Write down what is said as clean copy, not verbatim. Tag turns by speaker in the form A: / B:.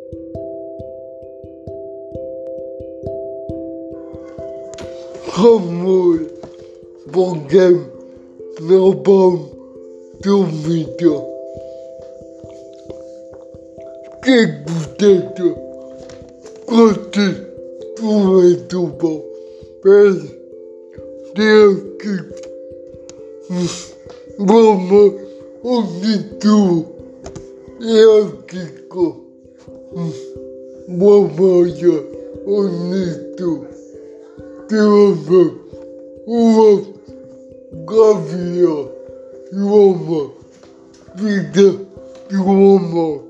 A: Amor, porque não vamos duvidar. Que gostei, muito bom. Mas tenho que vamos unir tudo. Eu fico vamos unir tudo. Temos uma gavião e uma vida e uma